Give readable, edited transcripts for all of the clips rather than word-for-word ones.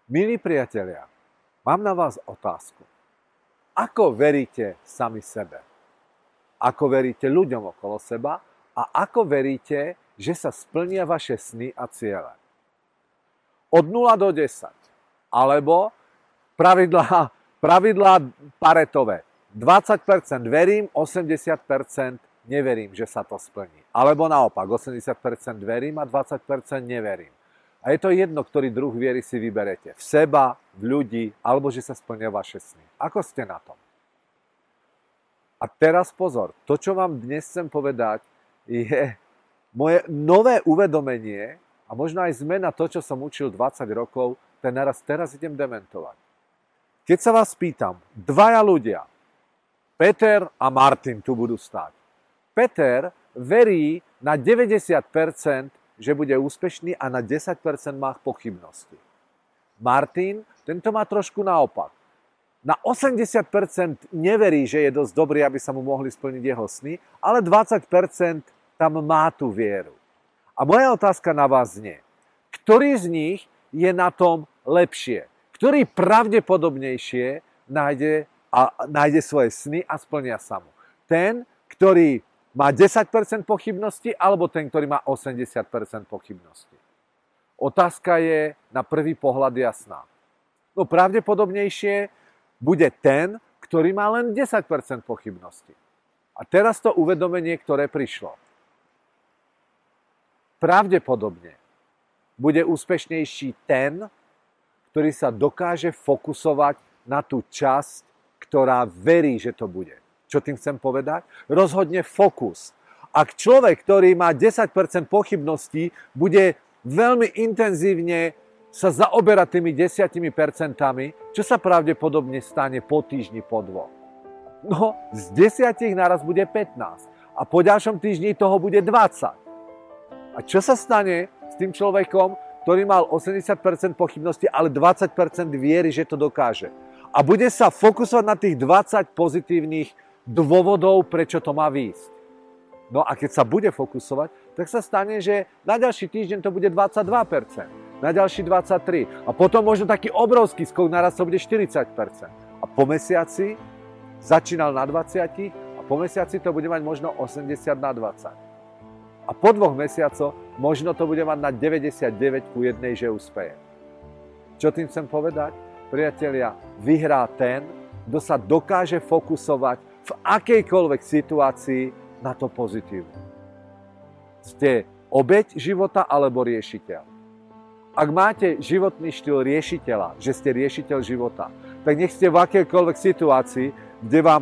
Milí priatelia, mám na vás otázku. Ako veríte sami sebe? Ako veríte ľuďom okolo seba? A ako veríte, že sa splnia vaše sny a ciele? Od 0 do 10. Alebo pravidlá Paretové. 20% verím, 80% neverím, že sa to splní. Alebo naopak, 80% verím a 20% neverím. A je to jedno, ktorý druh viery si vyberete. V seba, v ľudí, alebo že sa splnia vaše sny. Ako ste na tom? A teraz pozor, to, čo vám dnes chcem povedať, je moje nové uvedomenie a možno aj zmena to, čo som učil 20 rokov, ten teraz idem dementovať. Keď sa vás pýtam, dvaja ľudia, Peter a Martin tu budú stáť. Peter verí na 90%, že bude úspešný a na 10% má pochybnosti. Martin, tento má trošku naopak. Na 80% neverí, že je dosť dobrý, aby sa mu mohli splniť jeho sny, ale 20% tam má tú vieru. A moja otázka na vás znie, ktorý z nich je na tom lepšie? Ktorý pravdepodobnejšie nájde svoje sny a splnia sa mu? Ten, ktorý má 10% pochybnosti, alebo ten, ktorý má 80% pochybnosti? Otázka je na prvý pohľad jasná. No pravdepodobnejšie bude ten, ktorý má len 10% pochybnosti. A teraz to uvedomenie, ktoré prišlo. Pravdepodobne bude úspešnejší ten, ktorý sa dokáže fokusovať na tú časť, ktorá verí, že to bude. Čo tým chcem povedať? Rozhodne fokus. Ak človek, ktorý má 10% pochybností, bude veľmi intenzívne sa zaoberať tými 10%, čo sa pravdepodobne stane po týždni, po dvoch? No, z 10 naraz bude 15 a po ďalšom týždni toho bude 20. A čo sa stane s tým človekom, ktorý mal 80% pochybnosti, ale 20% viery, že to dokáže? A bude sa fokusovať na tých 20 pozitívnych dôvodov, prečo to má výjsť. No a keď sa bude fokusovať, tak sa stane, že na ďalší týždeň to bude 22%, na ďalší 23%. A potom možno taký obrovský skok, naraz to bude 40%. A po mesiaci začínal na 20 a po mesiaci to bude mať možno 80/20. A po 2 mesiacoch možno to bude mať na 99:1, že úspeje. Čo tým chcem povedať? Priatelia, vyhrá ten, kto sa dokáže fokusovať v akejkoľvek situácii na to pozitívne. Ste obeť života alebo riešiteľ? Ak máte životný štýl riešiteľa, že ste riešiteľ života, tak nech ste v akejkoľvek situácii, kde vám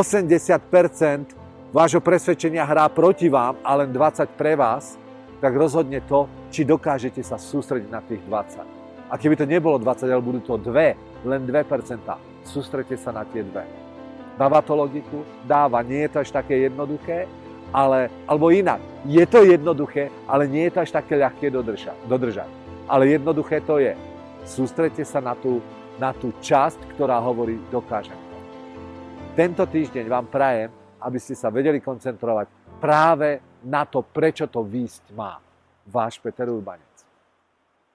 80% vášho presvedčenia hrá proti vám a len 20 pre vás, tak rozhodne to, či dokážete sa sústrediť na tých 20. A keby to nebolo 20, ale budú to 2, len 2%, sústredte sa na tie 2. Dáva to logiku? Dáva. Nie je to až také jednoduché, alebo inak. Je to jednoduché, ale nie je to až také ľahké dodržať. Ale jednoduché to je. Sústredte sa na tú časť, ktorá hovorí, dokážem to. Tento týždeň vám prajem, aby ste sa vedeli koncentrovať práve na to, prečo to výjsť má. Váš Peter Urbanec.